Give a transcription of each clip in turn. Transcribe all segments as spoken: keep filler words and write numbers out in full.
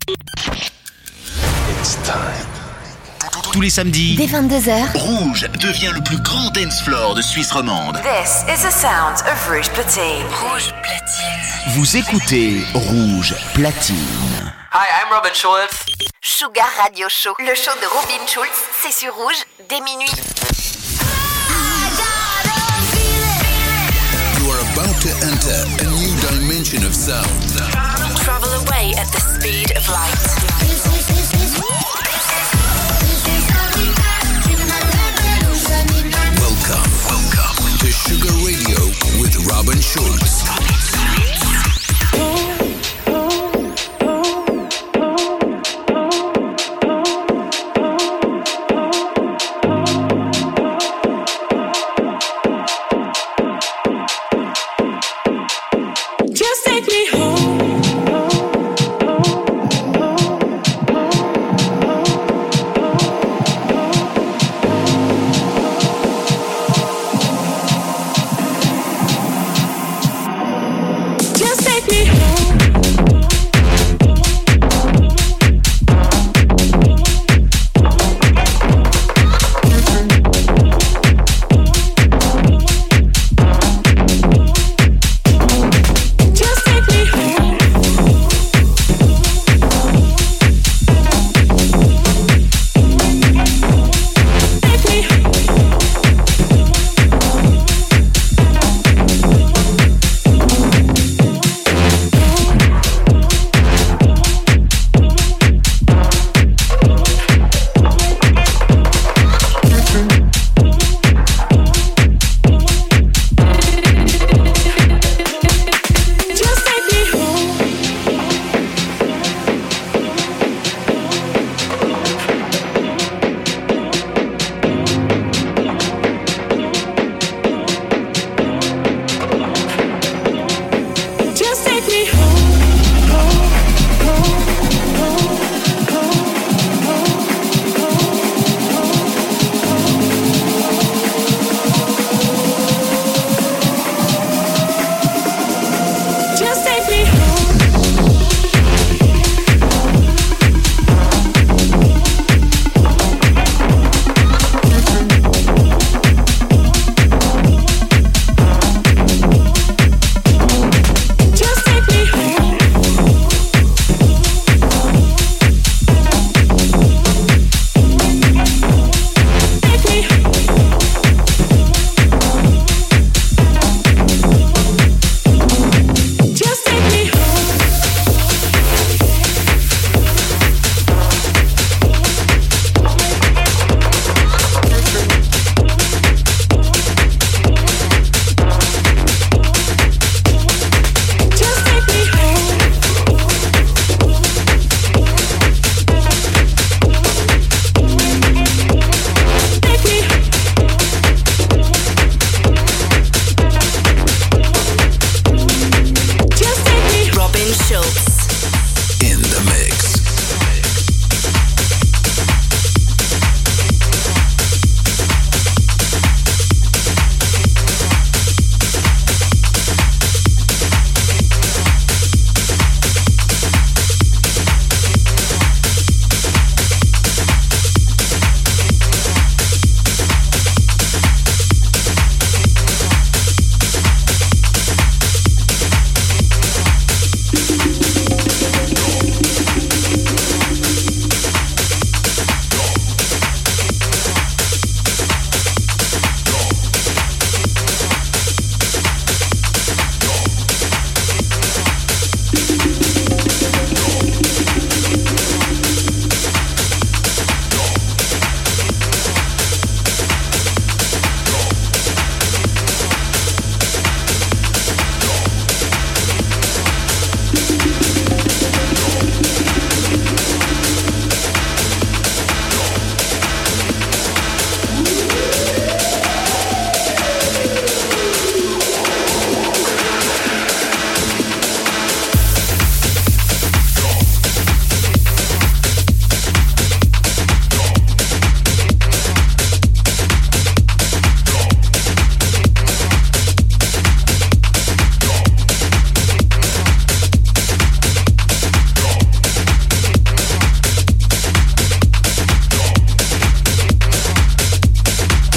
It's time. Tous les samedis, dès vingt-deux heures, Rouge devient le plus grand dance floor de Suisse romande. This is the sound of Rouge Platine. Rouge Platine. Vous écoutez Rouge Platine. Hi, I'm Robin Schulz. Sugar Radio Show, le show de Robin Schulz, c'est sur Rouge dès minuit. You are about to enter a new dimension of sound. Travel away at the speed of light. Welcome, welcome to Sugar Radio with Robin Schulz. Just take me home.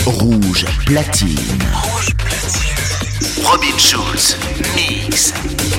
Rouge platine. Rouge platine. Robin Schulz, mix.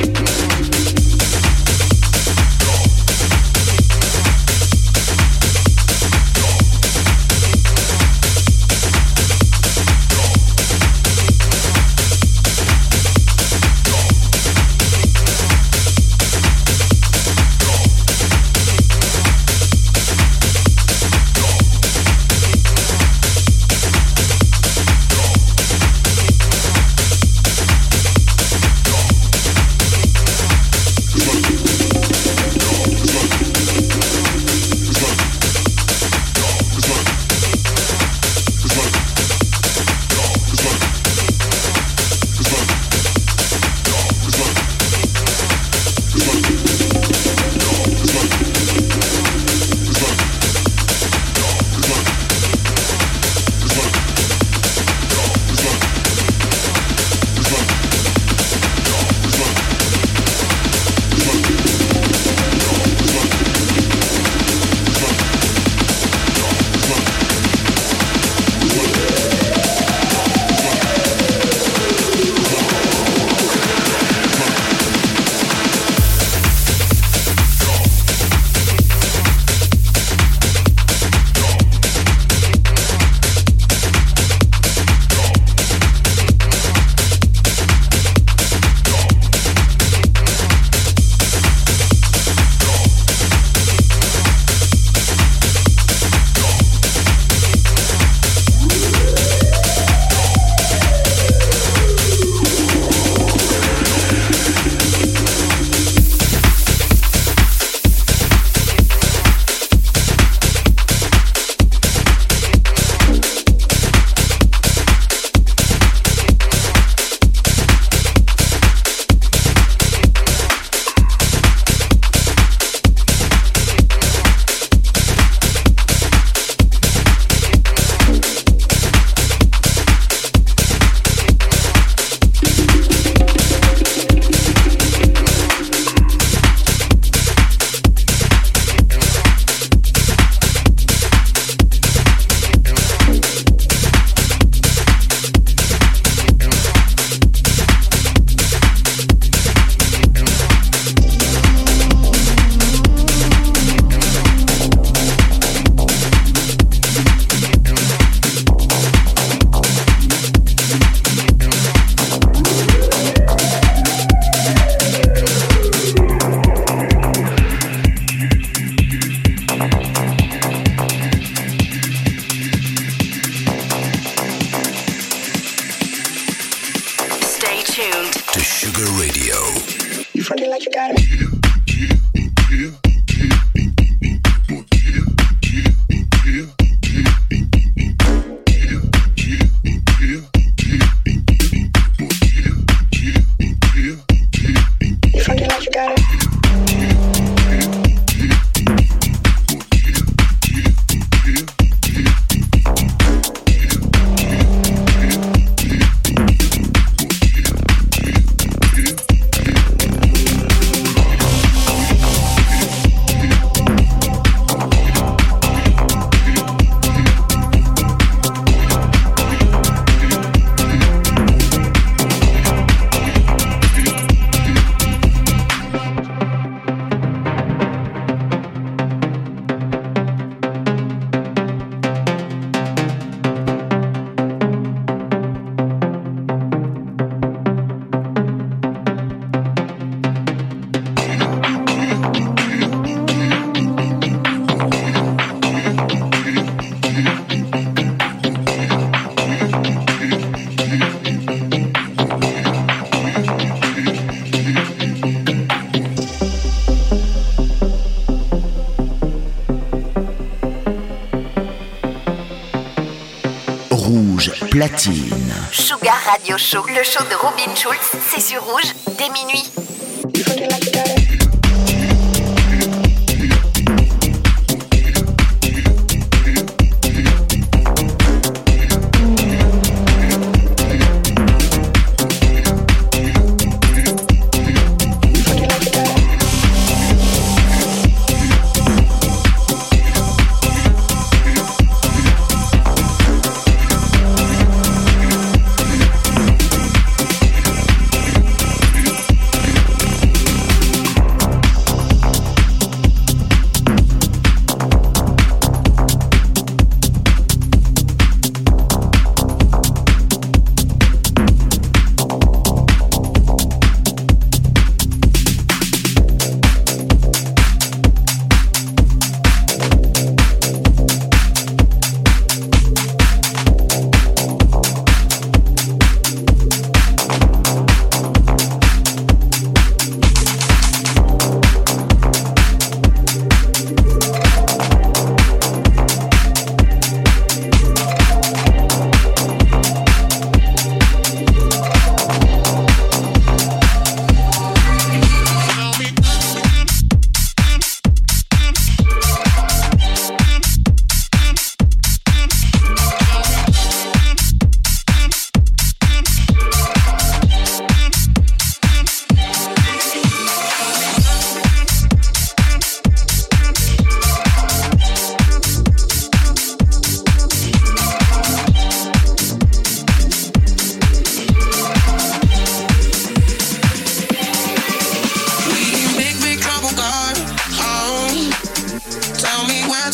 Platine. Sugar Radio Show, le show de Robin Schulz, c'est sur Rouge, dès minuit.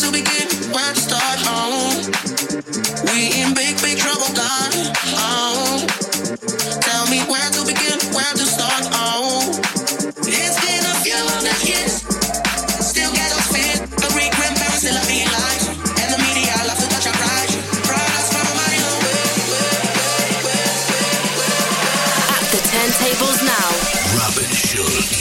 to begin, where to start. Oh, we in big, big trouble, God. Oh, tell me where to begin, where to start. Oh, it's been a few hundred years, still get us fit. The great grandparents still are being lied, and the media love to touch our pride. Brought us from a mighty long way. At the turntables now, Robin Schulz.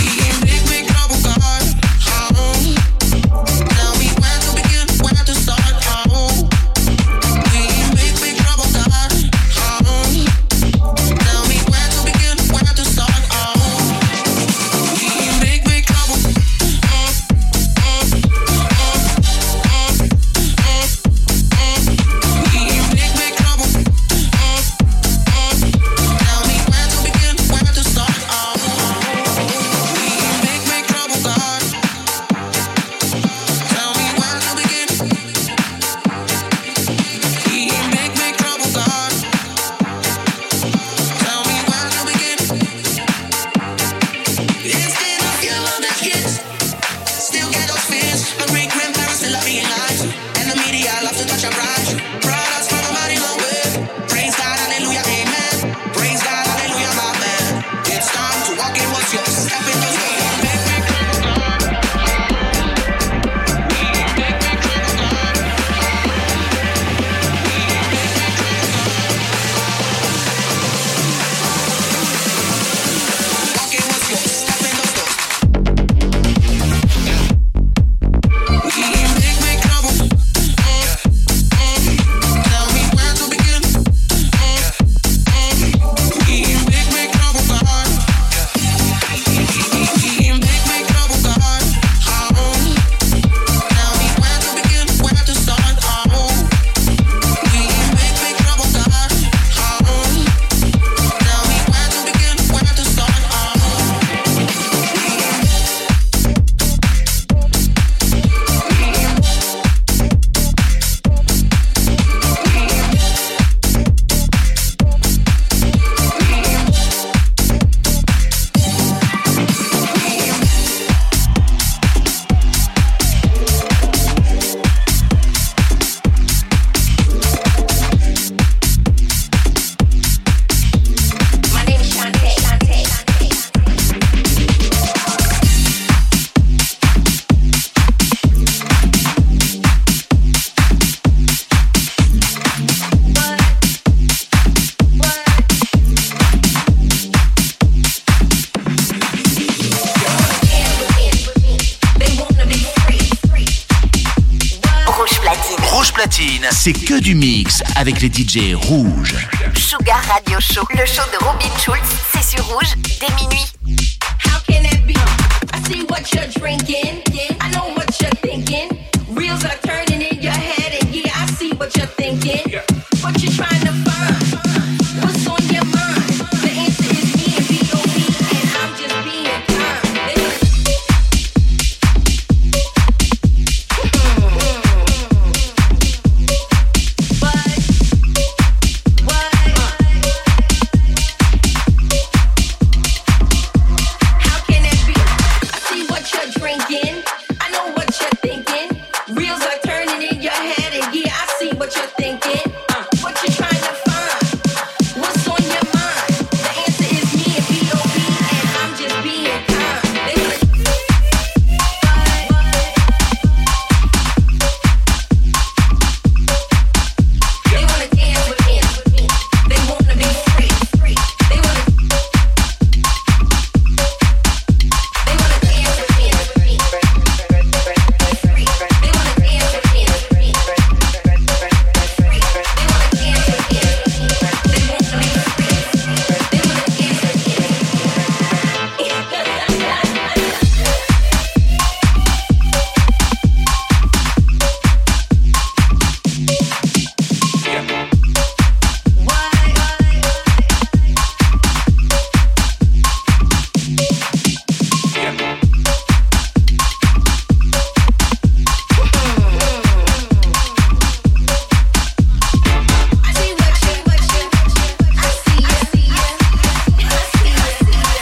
C'est que du mix avec les D J rouges. Sugar Radio Show, le show de Robin Schulz, c'est sur Rouge dès minuit. How can that be? I see what you're drinking. I know what you're thinking. Wheels are turning in your head, and yeah, I see what you're thinking. What you trying to find? What's on your mind? The answer is me and B O B, and I'm just being kind.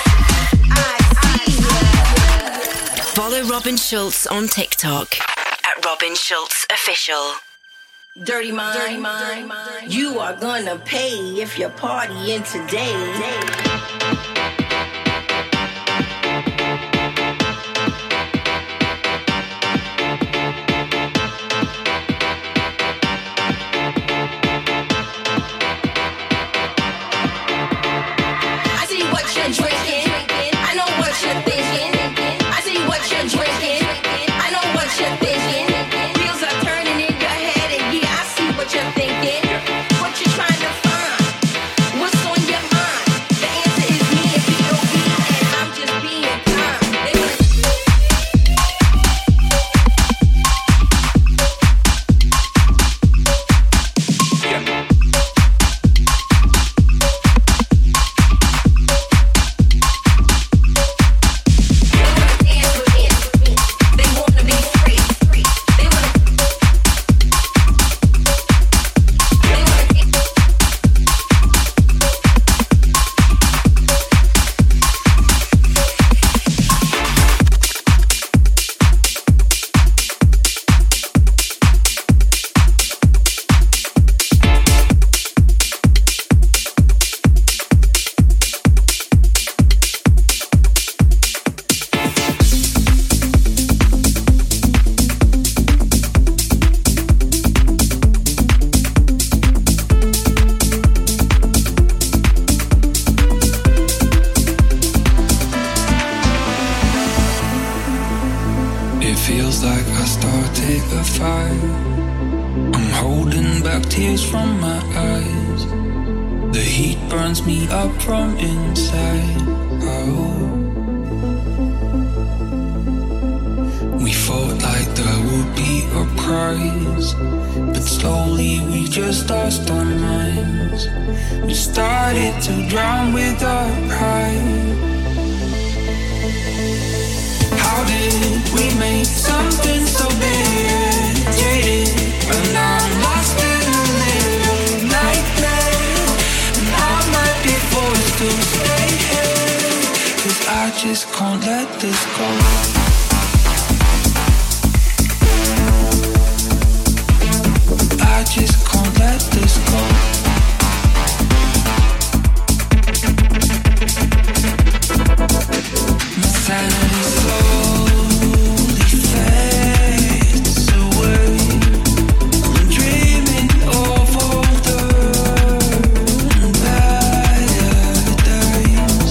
Robin Schulz on TikTok at Robin Schulz Official. Dirty mind, dirty mind, you are gonna pay if you're partying today. I see what you're drinking, I know what you're thinking. I see what you're drinking, I know what you're thinking. Wheels are turning in your head and yeah, I see what you're thinking. What you trying to find? What's on your mind? The answer is me and B O B, and I'm just being kind. They wanna dance with me. They wanna be free. They wanna They wanna It feels like I started a fire. I'm holding back tears from my eyes. The heat burns me up from inside. Oh. We fought like there would be a prize, but slowly we just lost our minds. We started to drown with our pride. How did we make something so big? And I'm lost in a little nightmare, and I might be forced to stay here, 'cause I just can't let this go. I just can't let this go. My sanity slowly fades away. I'm dreaming of all the better days.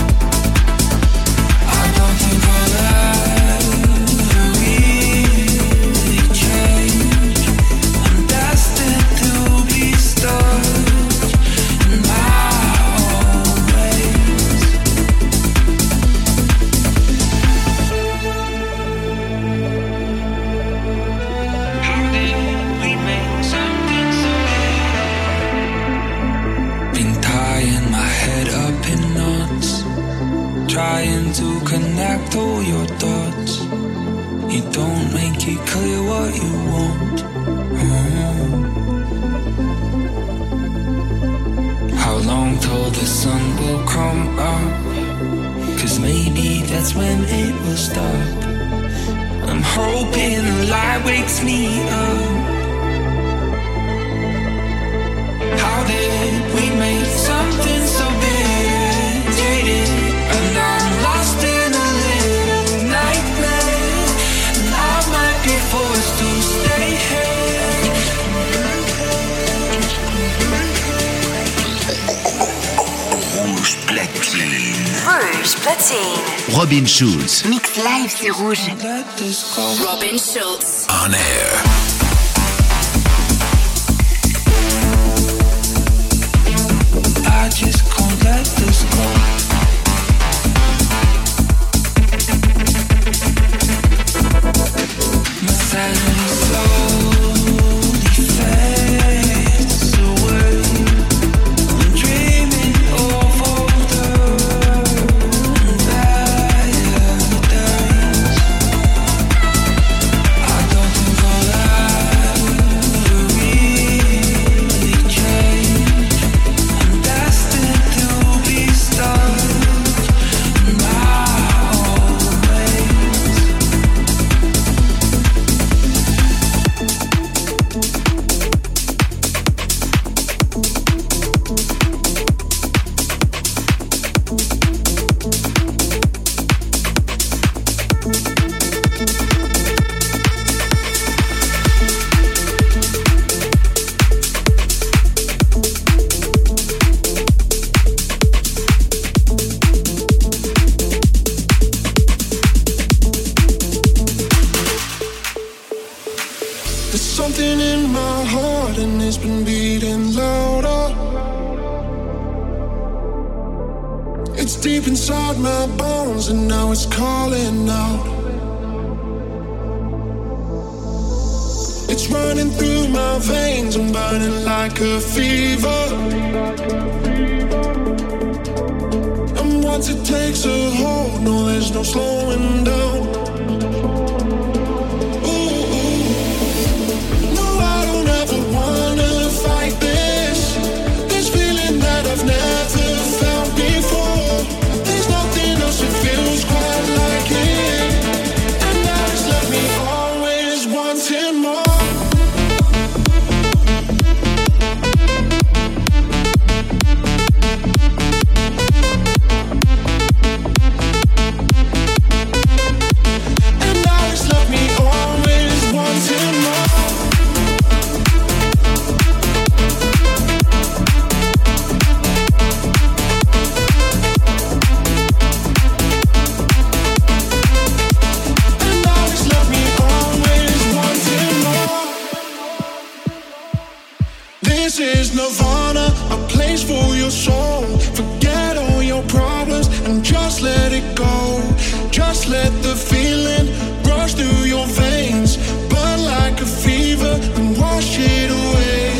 I don't think I'll ever really change. I'm destined to be stuck in my own ways. How did we make something so big? Been tying my head up in knots, trying to connect all your dots. You don't make it clear what you want. Oh. How long till the sun will come up? 'Cause maybe that's when it will stop. I'm hoping the light wakes me up. How did we make something so big? And I'm lost in a little nightmare, and I might be forced to stay here. Rouge platine. Rouge platine. Robin Schulz. Mix live sur Rouge. Let this go. Robin Schulz. On air. I just can't let this go. My sanity slowly fades away. I'm dreaming of all the better days. I don't think I'll ever really change. I'm destined to be stuck in my own ways. There's something in my heart and it's been beating louder. It's deep inside my bones and now it's calling out. It's running through my veins, I'm burning like a fever. And once it takes a hold, no, there's no slowing down. I've never felt before. There's nothing else that feels quite like it. And now it's left me always wanting more. And now it's left me always wanting more. This is Nirvana, a place for your soul. Forget all your problems and just let it go. Just let the feeling rush through your veins, burn like a fever and wash it away.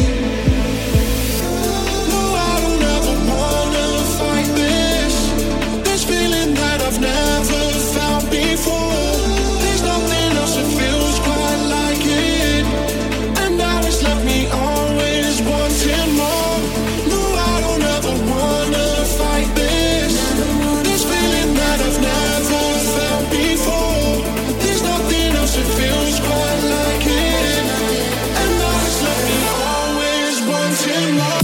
No, I don't ever wanna fight this. This feeling that I've never felt before. There's nothing else that feels quite like it. And now it's left me always wanting more. No, I don't ever wanna fight this. This feeling that I've never felt before. There's nothing else that feels quite like it. And now it's left me always wanting more.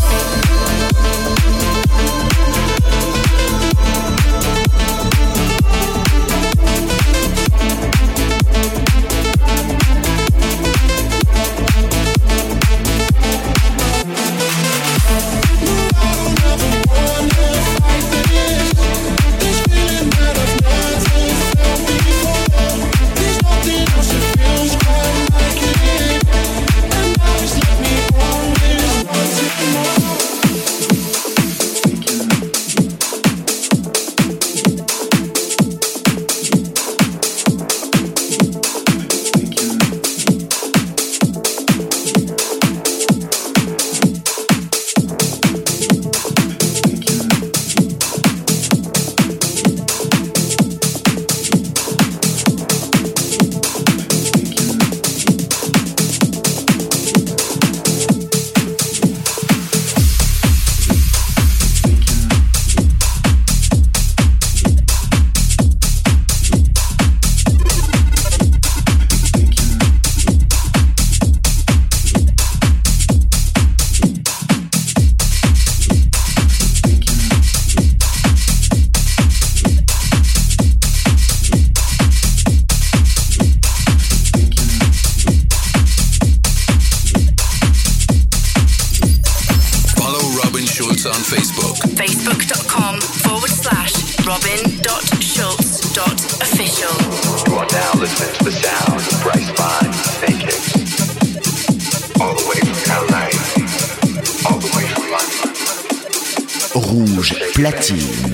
Rouge Platine.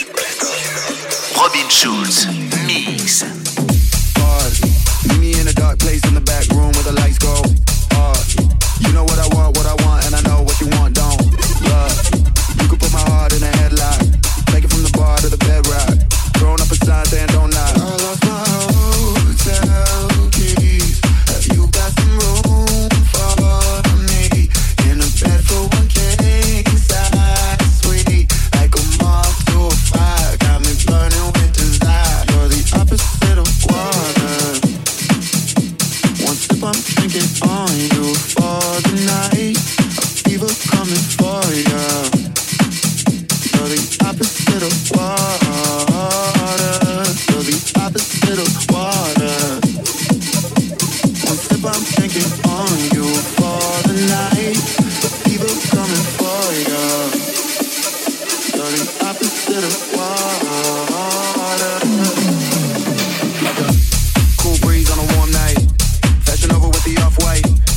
Robin Schulz Mix. Meet me in a dark place in the back room where the lights go. Uh, you know what I want, what I want, and I know what you want, don't. Love, you can put my heart in a headlock. Take it from the bar to the bedrock. Throwing up a sign saying don't knock. I lost my hotel keys. Have you got some room for me? In a bed for one king size suite. Like a moth to a fire. Got me burning with desire. You're the opposite of water. One sip I'm drinking on you for the night. A fever coming for you. You're the opposite of water. You're the opposite of water. One sip I'm drinking on you for the night. A fever coming for you. You're the opposite of water. Like a cool breeze on a warm night. Fashion over with the off-white.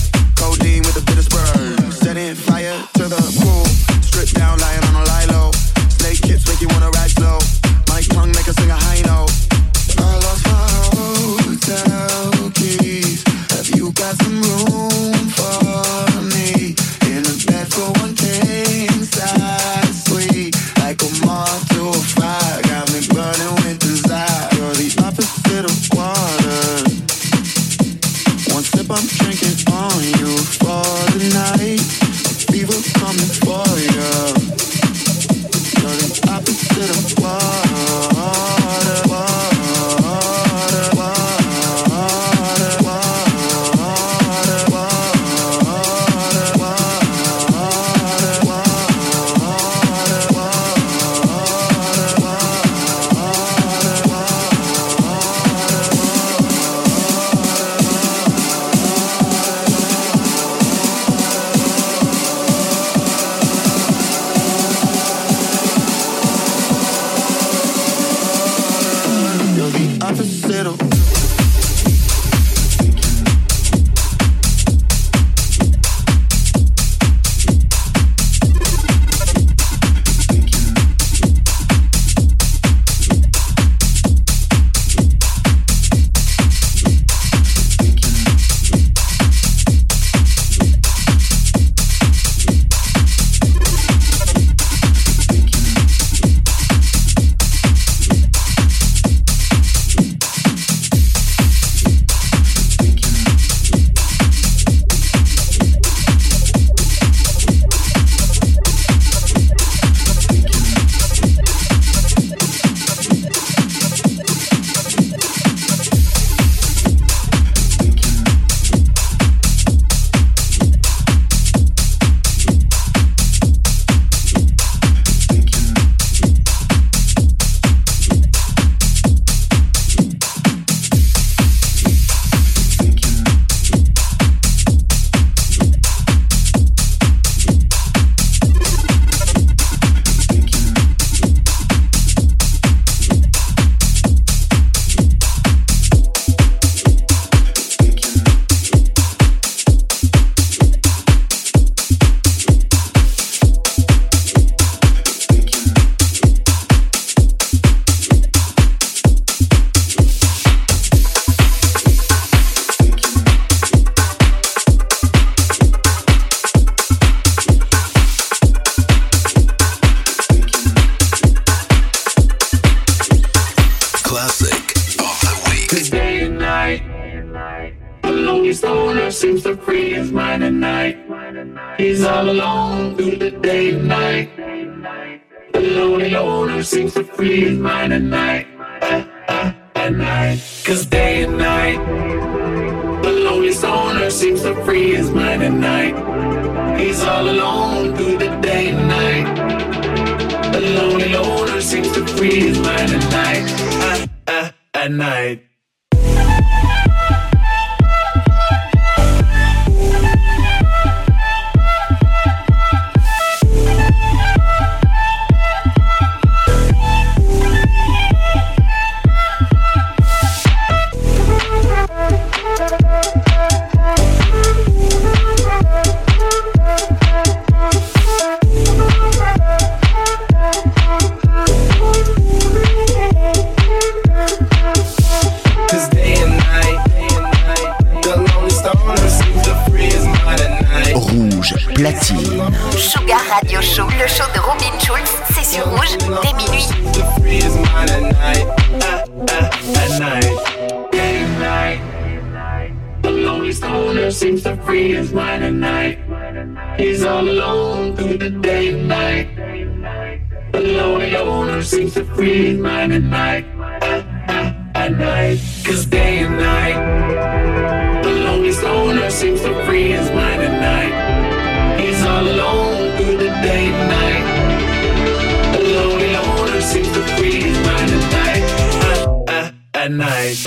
lonely stoner seems to free his mind at night. He's all alone through the day and night. The lonely loner seems to free his mind at night. At, at, at night. Cause day and night, the lonely stoner seems to free his mind at night. He's all alone through the day and night. The lonely loner seems to free his mind at night. At, at, at night. Platine. Sugar Radio Show, le show de Robin Schulz, c'est sur Rouge dès minuit. The lonely stoner seems to free his mind at night. He's all alone through the day and night. The lonely loner seems to free his mind at night. At, at, at night. Cause day and night, the lonely stoner seems to free his mind at night. He's all alone through the day and night. The lonely loner seems to free his mind at night. At, at, at night.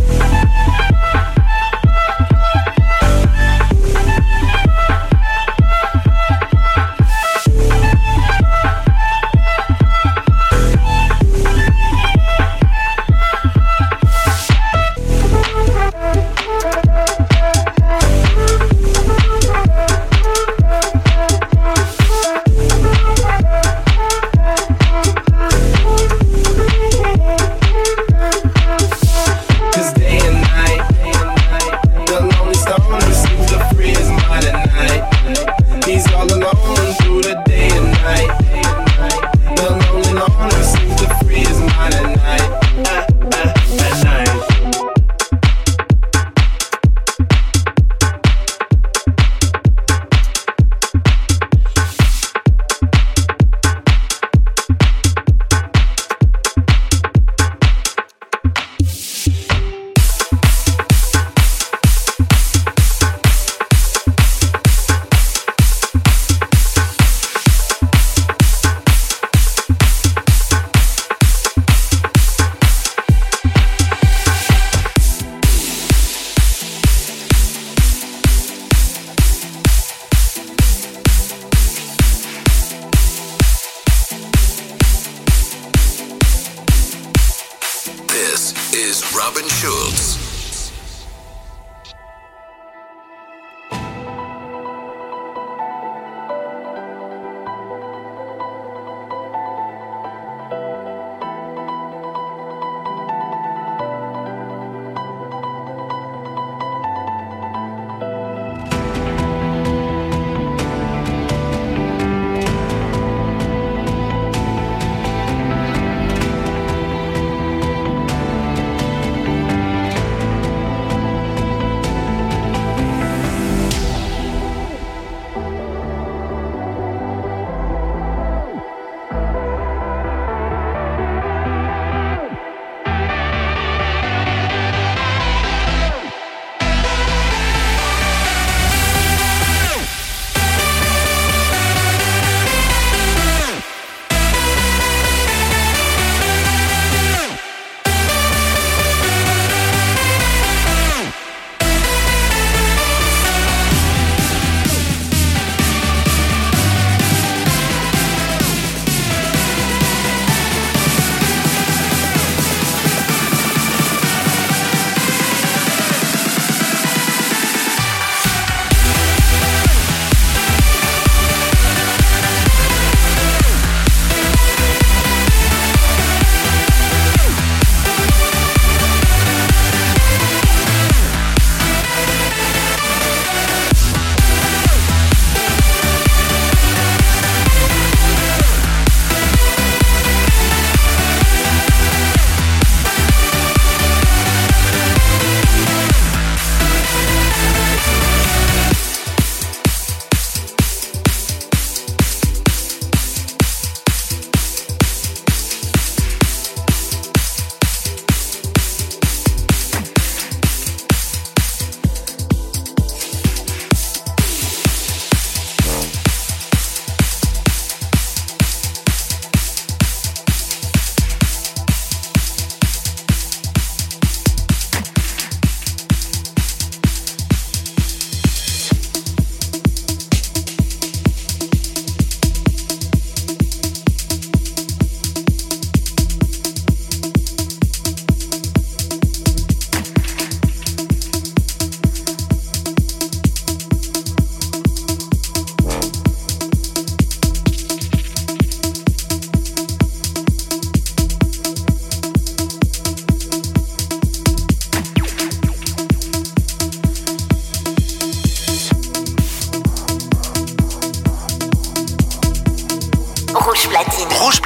Robin Schulz.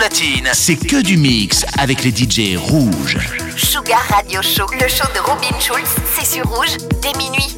platine. C'est que du mix avec les D J rouges. Sugar Radio Show, le show de Robin Schulz, c'est sur Rouge dès minuit.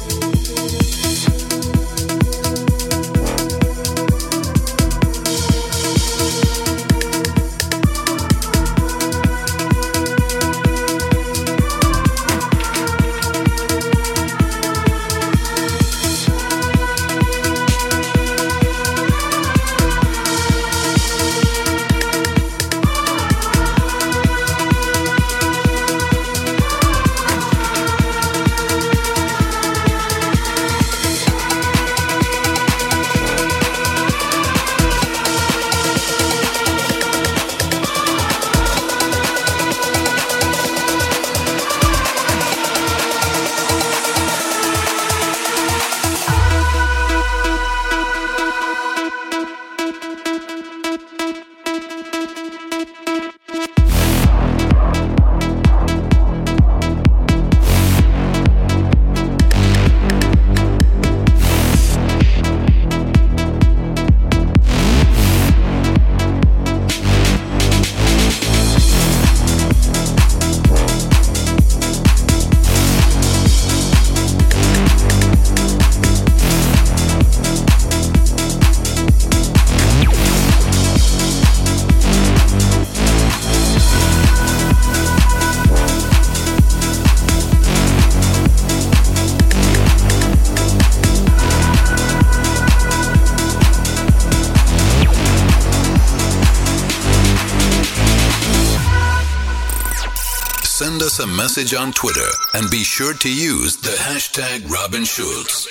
Send us a message on Twitter and be sure to use the hashtag Robin Schulz.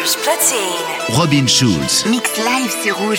Rouge Platine. Robin Schulz. Mix live sur Rouge.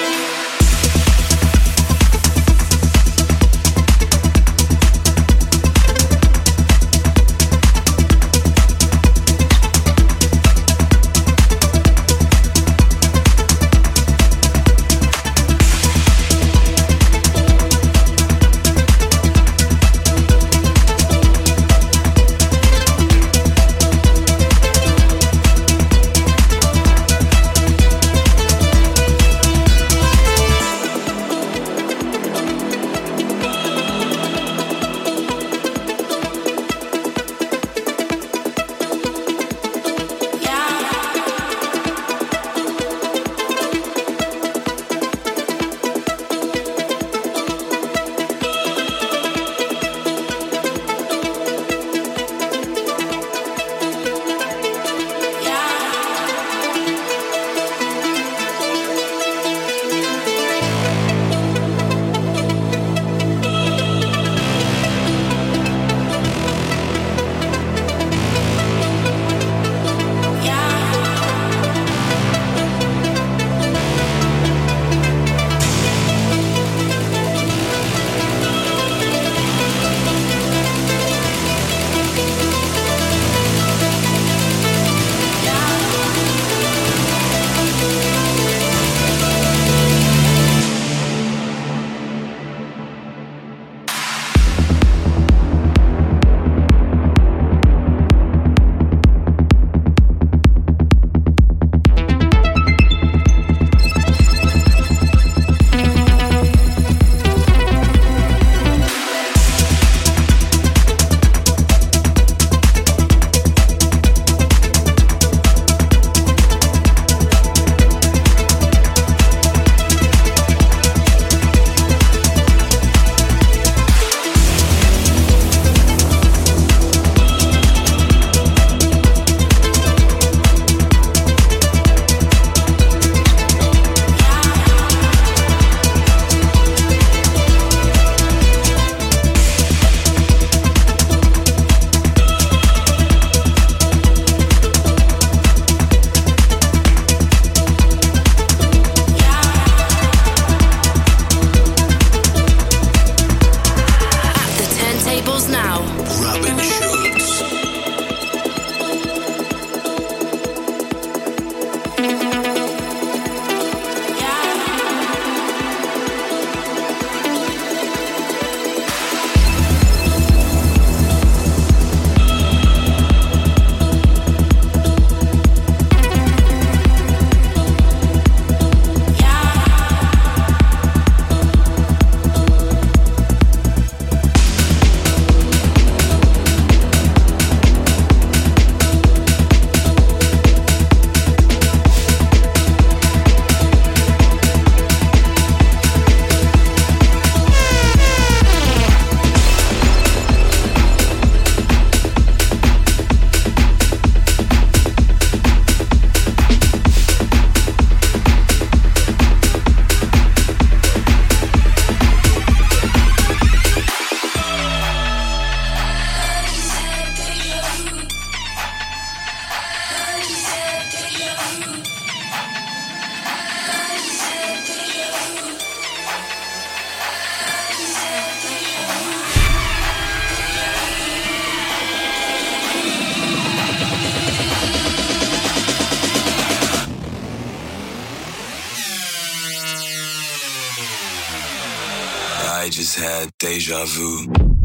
I just had deja vu.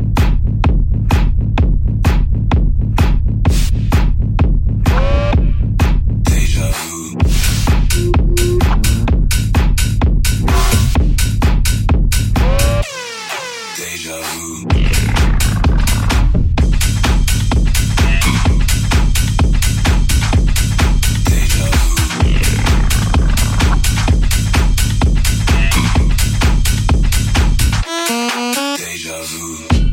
Deja vu. Deja vu. Deja vu. Deja vu.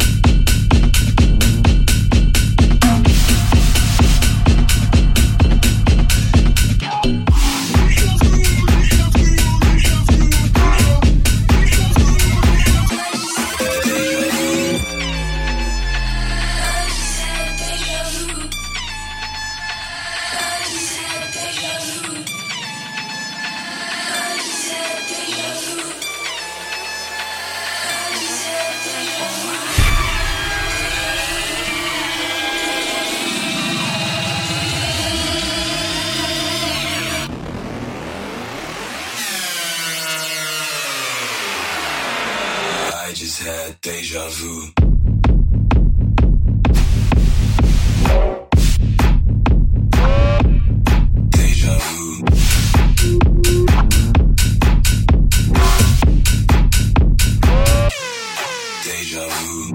Déjà vu. Déjà vu. Déjà vu.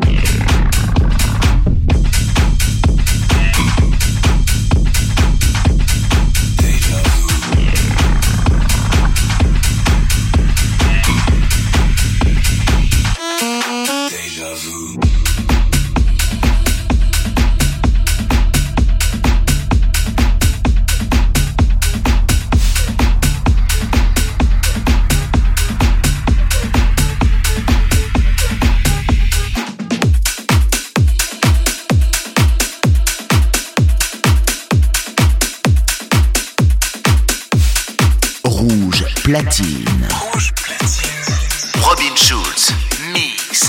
Platine. Rouge platine. Robin Schulz, mix.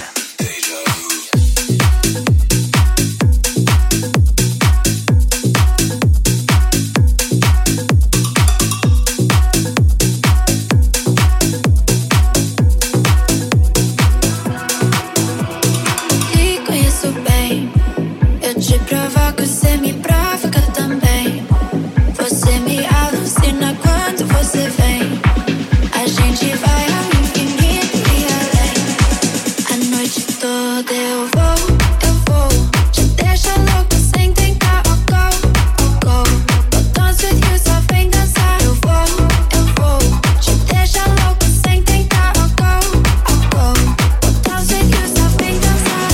Te conheço bem, eu te provoco, você me provoca também. Você me alucina quando você vem. A gente vai ao infinito e além. A noite toda eu vou, eu vou. Te deixa louco sem tentar, oh go, oh go. Vou dance with you, só vem dançar. Eu vou, eu vou. Te deixa louco sem tentar, oh go, oh go. Vou dance with you, só vem dançar.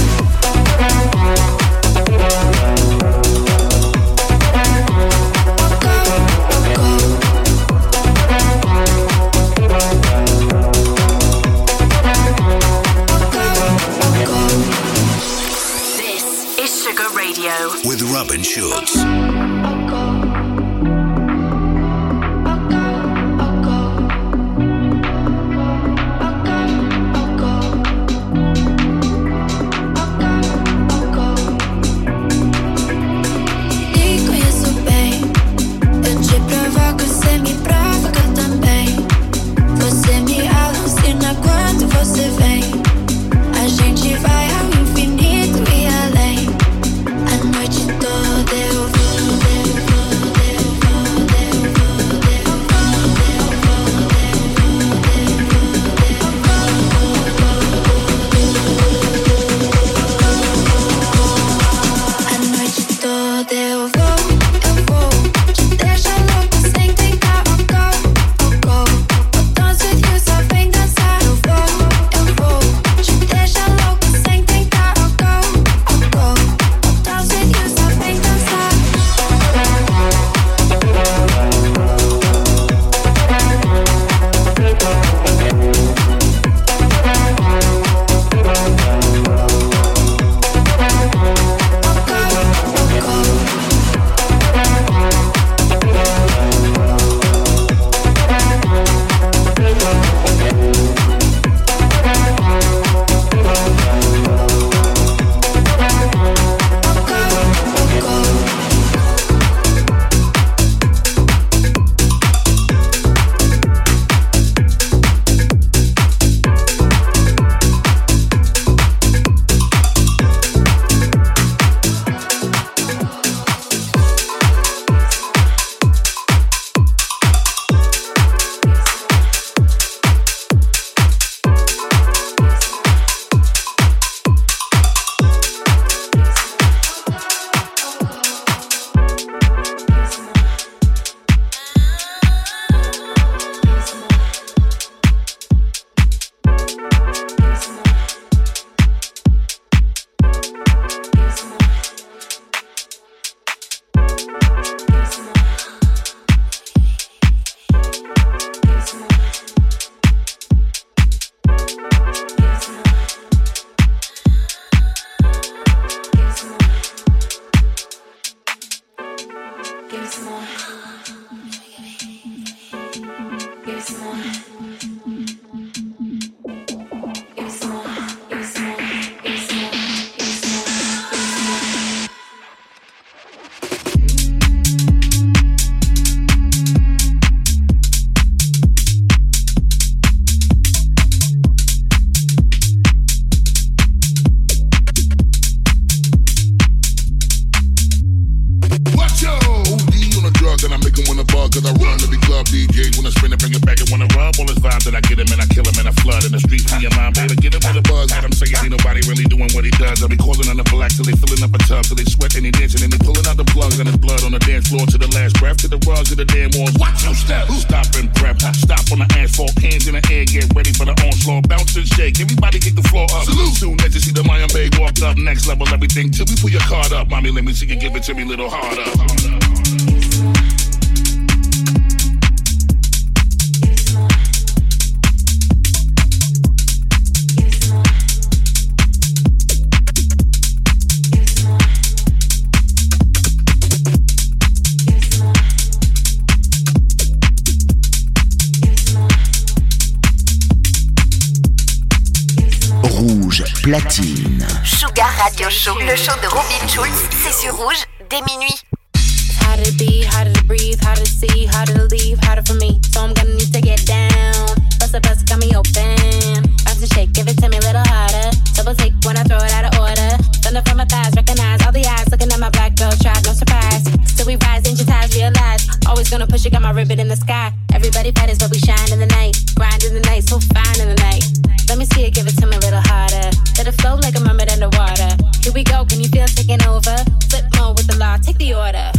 With Robin Schulz. Te conheço bem, eu te provoco, você me provoca também. Você me alucina quando você vem. A gente vai ao infinito e além. A noite toda eu vou, eu vou, eu vou, eu vou, eu vou. A noite toda eu vou, eu vou. Te deixa louco sem tentar, oh go, oh go. Vou dance with you, só vem dançar. Eu vou, eu vou. Te deixa louco sem tentar, oh go, oh go. Vou dance with you, só vem dançar. cause I run to the club D Js. When I spin it, bring it back and wanna rub all this vibe that I get him and I kill him and I flood in the streets. Me and my baby, get him with a buzz. Got him saying ain't nobody really doing what he does. I be calling on the black till they filling up a tub, till they sweat and they dancing and they pulling out the plugs and his blood on the dance floor to the last breath, to the rugs, to the damn walls. Watch your step, stop and prep, stop on the asphalt, hands in the air, get ready for the onslaught, bounce and shake. Everybody get the floor up. Salute. Soon as you see the Mayan Bay walked up, next level everything till we pull your card up. Mommy, let me see you give it to me a little harder. Rouge Platine. Sugar Radio Show, le show de Robin Schulz, c'est sur Rouge dès minuit. Harder to be, harder to breathe, harder to see, harder to leave, harder for me. So I'm gonna need to get down. Bust a bust, got me open. Bounce and shake, give it to me a little harder. Double take when I throw it out of order. Thunder from my thighs, recognize all the eyes looking at my black girl tribe, no surprise. Still we rise, ancient ties realize. Always gonna push it, got my ribbon in the sky. Everybody betters, but we shine in the night. Grind in the night, so fine in the night. Let me see it, give it to me a little harder. Let it flow like a mermaid underwater. Here we go, can you feel it taking over? Flip mode with the law, take the order.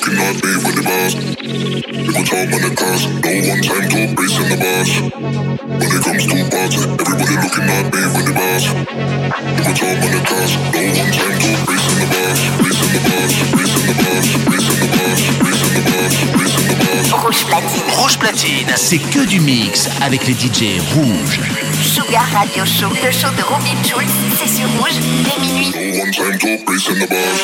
looking at me with the bars. People talk on the cars, no one time to brace in the bars. When it comes to party, everybody looking at me with the bars. People talk on the cars, no one time to brace in the bars. Brace in the bars, brace in the bars, brace in the bars, brace in the bars, brace in the bars. Rouge Platine. Rouge Platine, c'est que du mix avec les D J rouges. Sugar Radio Show, le show de Robin Schulz, c'est sur Rouge dès minuit. No one time to brace in the bars.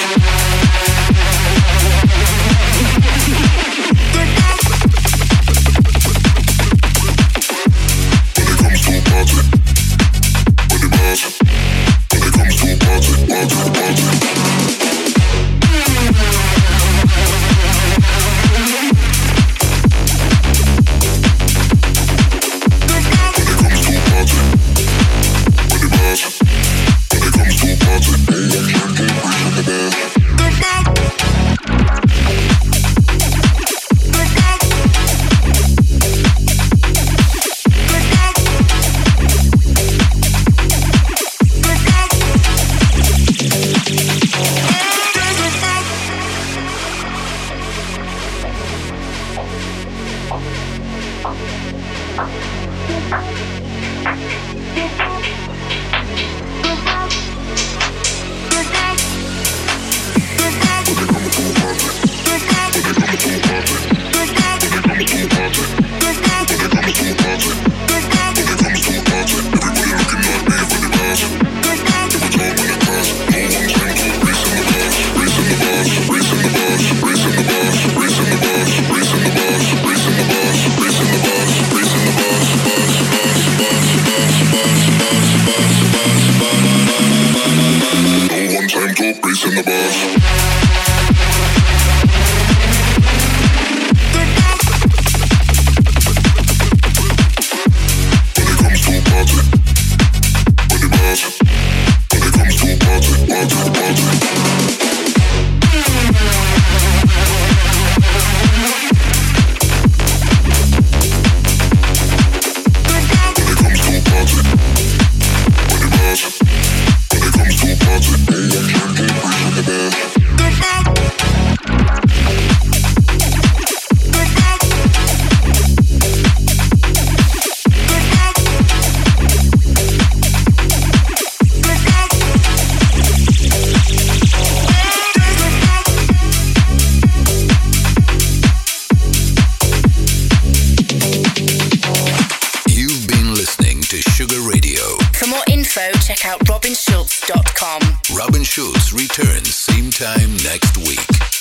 Check out robin schulz dot com. Robin Schulz returns same time next week.